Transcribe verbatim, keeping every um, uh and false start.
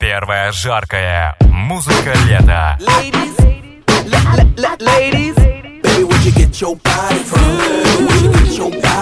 Первая жаркая музыка лета. Ladies, l- l- l- ladies, baby, where'd you get your body from? Where'd you get your body